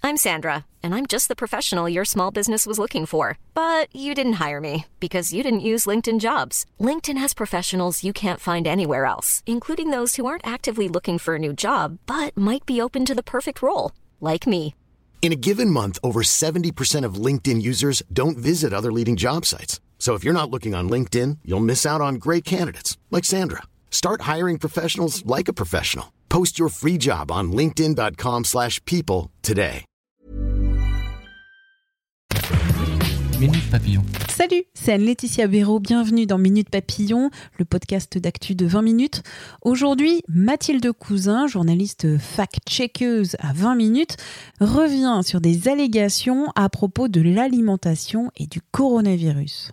I'm Sandra, and I'm just the professional your small business was looking for. But you didn't hire me because you didn't use LinkedIn Jobs. LinkedIn has professionals you can't find anywhere else, including those who aren't actively looking for a new job, but might be open to the perfect role, like me. In a given month, over 70% of LinkedIn users don't visit other leading job sites. So if you're not looking on LinkedIn, you'll miss out on great candidates like Sandra. Start hiring professionals like a professional. Post your free job on linkedin.com/people today. Minute Papillon. Salut, c'est Anne-Laetitia Béraud, bienvenue dans Minute Papillon, le podcast d'actu de 20 minutes. Aujourd'hui, Mathilde Cousin, journaliste fact-checkeuse à 20 minutes, revient sur des allégations à propos de l'alimentation et du coronavirus.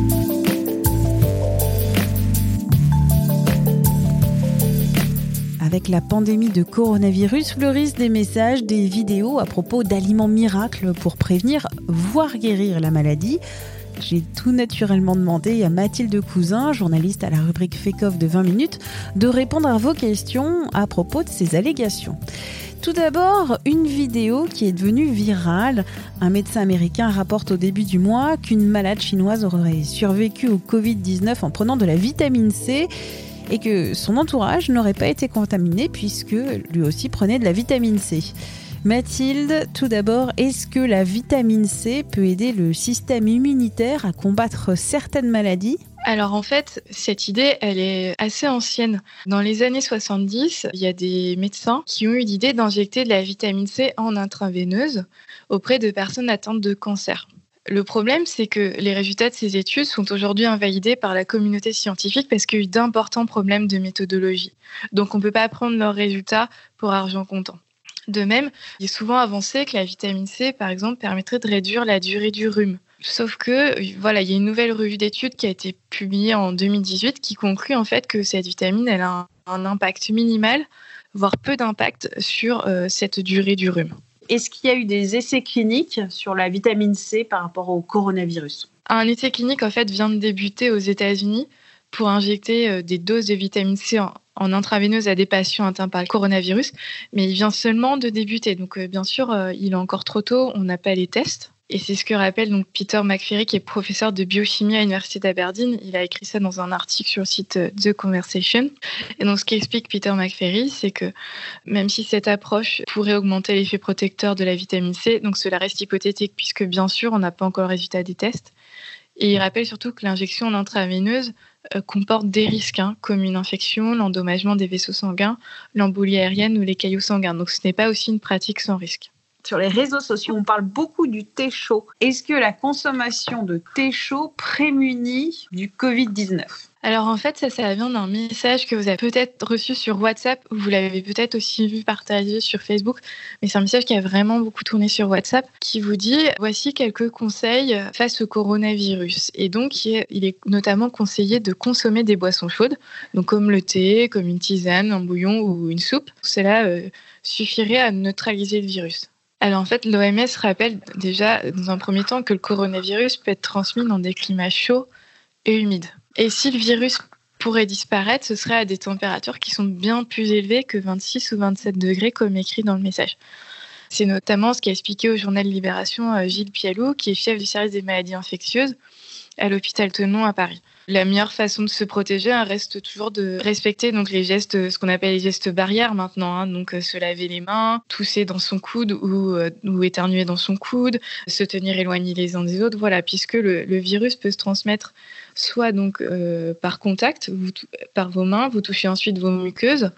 Avec la pandémie de coronavirus, fleurissent des messages, des vidéos à propos d'aliments miracles pour prévenir, voire guérir la maladie. J'ai tout naturellement demandé à Mathilde Cousin, journaliste à la rubrique Fake-Off de 20 minutes, de répondre à vos questions à propos de ces allégations. Tout d'abord, une vidéo qui est devenue virale. Un médecin américain rapporte au début du mois qu'une malade chinoise aurait survécu au Covid-19 en prenant de la vitamine C et que son entourage n'aurait pas été contaminé puisque lui aussi prenait de la vitamine C. Mathilde, tout d'abord, est-ce que la vitamine C peut aider le système immunitaire à combattre certaines maladies ? Alors en fait, cette idée, elle est assez ancienne. Dans les années 70, il y a des médecins qui ont eu l'idée d'injecter de la vitamine C en intraveineuse auprès de personnes atteintes de cancer. Le problème, c'est que les résultats de ces études sont aujourd'hui invalidés par la communauté scientifique parce qu'il y a eu d'importants problèmes de méthodologie. Donc on ne peut pas prendre leurs résultats pour argent comptant. De même, il est souvent avancé que la vitamine C, par exemple, permettrait de réduire la durée du rhume. Sauf que, il y a une nouvelle revue d'études qui a été publiée en 2018 qui conclut en fait que cette vitamine, elle a un impact minimal, voire peu d'impact sur cette durée du rhume. Est-ce qu'il y a eu des essais cliniques sur la vitamine C par rapport au coronavirus ? Un essai clinique en fait vient de débuter aux États-Unis pour injecter des doses de vitamine C en intraveineuse à des patients atteints par le coronavirus, mais il vient seulement de débuter. Donc bien sûr, il est encore trop tôt, on n'a pas les tests. Et c'est ce que rappelle donc Peter McFerry, qui est professeur de biochimie à l'Université d'Aberdeen. Il a écrit ça dans un article sur le site The Conversation. Et donc, ce qu'explique Peter McFerry, c'est que même si cette approche pourrait augmenter l'effet protecteur de la vitamine C, donc cela reste hypothétique puisque, bien sûr, on n'a pas encore le résultat des tests. Et il rappelle surtout que l'injection en intraveineuse comporte des risques, comme une infection, l'endommagement des vaisseaux sanguins, l'embolie aérienne ou les caillots sanguins. Donc, ce n'est pas aussi une pratique sans risque. Sur les réseaux sociaux, on parle beaucoup du thé chaud. Est-ce que la consommation de thé chaud prémunit du Covid-19 ? Alors en fait, ça vient d'un message que vous avez peut-être reçu sur WhatsApp, ou vous l'avez peut-être aussi vu partagé sur Facebook, mais c'est un message qui a vraiment beaucoup tourné sur WhatsApp, qui vous dit « Voici quelques conseils face au coronavirus ». Et donc, il est notamment conseillé de consommer des boissons chaudes, donc comme le thé, comme une tisane, un bouillon ou une soupe. Cela suffirait à neutraliser le virus. Alors en fait, l'OMS rappelle déjà dans un premier temps que le coronavirus peut être transmis dans des climats chauds et humides. Et si le virus pourrait disparaître, ce serait à des températures qui sont bien plus élevées que 26 ou 27 degrés comme écrit dans le message. C'est notamment ce qu'a expliqué au journal Libération Gilles Pialou, qui est chef du service des maladies infectieuses à l'hôpital Tenon à Paris. La meilleure façon de se protéger reste toujours de respecter donc les gestes, ce qu'on appelle les gestes barrières maintenant. Donc se laver les mains, tousser dans son coude ou éternuer dans son coude, se tenir éloignés les uns des autres. Voilà, puisque le virus peut se transmettre soit donc par contact, par vos mains, vous touchez ensuite vos muqueuses,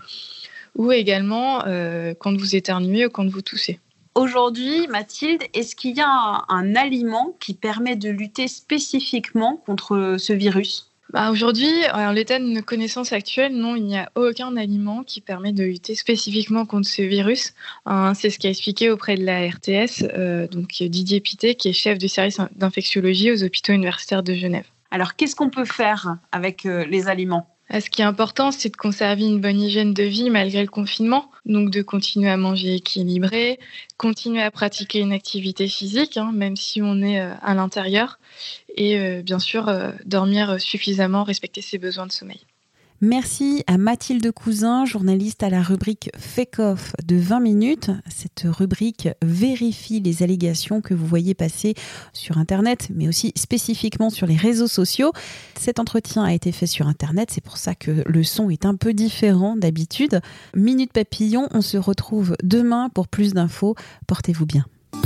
ou également quand vous éternuez ou quand vous toussez. Aujourd'hui, Mathilde, est-ce qu'il y a un aliment qui permet de lutter spécifiquement contre ce virus ? Aujourd'hui, en l'état de nos connaissances actuelles, non, il n'y a aucun aliment qui permet de lutter spécifiquement contre ce virus. C'est ce qu'a expliqué auprès de la RTS donc Didier Pittet, qui est chef du service d'infectiologie aux hôpitaux universitaires de Genève. Alors, qu'est-ce qu'on peut faire avec les aliments ? Ce qui est important, c'est de conserver une bonne hygiène de vie malgré le confinement. Donc, de continuer à manger équilibré, continuer à pratiquer une activité physique, même si on est à l'intérieur. Et bien sûr, dormir suffisamment, respecter ses besoins de sommeil. Merci à Mathilde Cousin, journaliste à la rubrique Fake-Off de 20 minutes. Cette rubrique vérifie les allégations que vous voyez passer sur Internet, mais aussi spécifiquement sur les réseaux sociaux. Cet entretien a été fait sur Internet, c'est pour ça que le son est un peu différent d'habitude. Minute Papillon, on se retrouve demain pour plus d'infos. Portez-vous bien.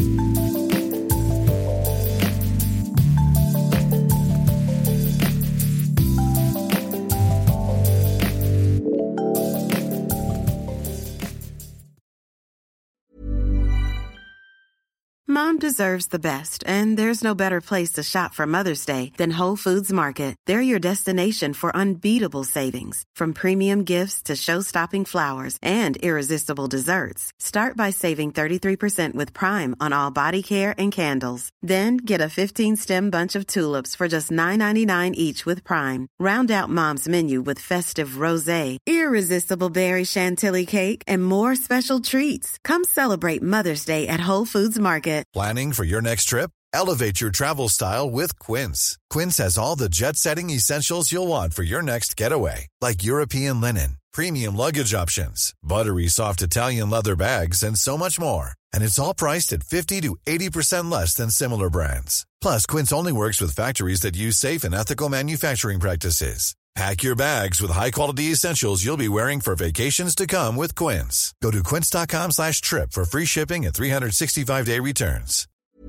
Mom deserves the best, and there's no better place to shop for Mother's Day than Whole Foods Market. They're your destination for unbeatable savings, from premium gifts to show-stopping flowers and irresistible desserts. Start by saving 33% with Prime on all body care and candles. Then get a 15-stem bunch of tulips for just $9.99 each with Prime. Round out Mom's menu with festive rosé, irresistible berry chantilly cake, and more special treats. Come celebrate Mother's Day at Whole Foods Market. Planning for your next trip? Elevate your travel style with Quince. Quince has all the jet-setting essentials you'll want for your next getaway, like European linen, premium luggage options, buttery soft Italian leather bags, and so much more. And it's all priced at 50 to 80% less than similar brands. Plus, Quince only works with factories that use safe and ethical manufacturing practices. Pack your bags with high-quality essentials you'll be wearing for vacations to come with Quince. Go to quince.com/trip for free shipping and 365-day returns.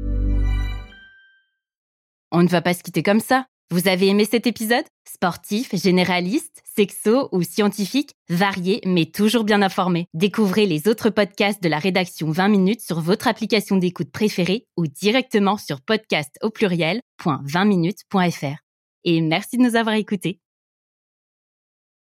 On ne va pas se quitter comme ça. Vous avez aimé cet épisode ? Sportif, généraliste, sexo ou scientifique, varié mais toujours bien informé. Découvrez les autres podcasts de la rédaction 20 minutes sur votre application d'écoute préférée ou directement sur podcast@20minutes.fr. Et merci de nous avoir écoutés.